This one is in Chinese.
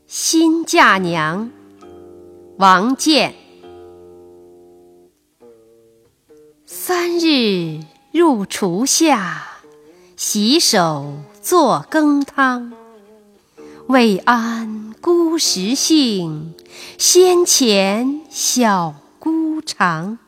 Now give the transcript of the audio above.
新嫁娘，王建。3日入厨下，洗手作羹汤。未谙姑食性，先遣小姑尝。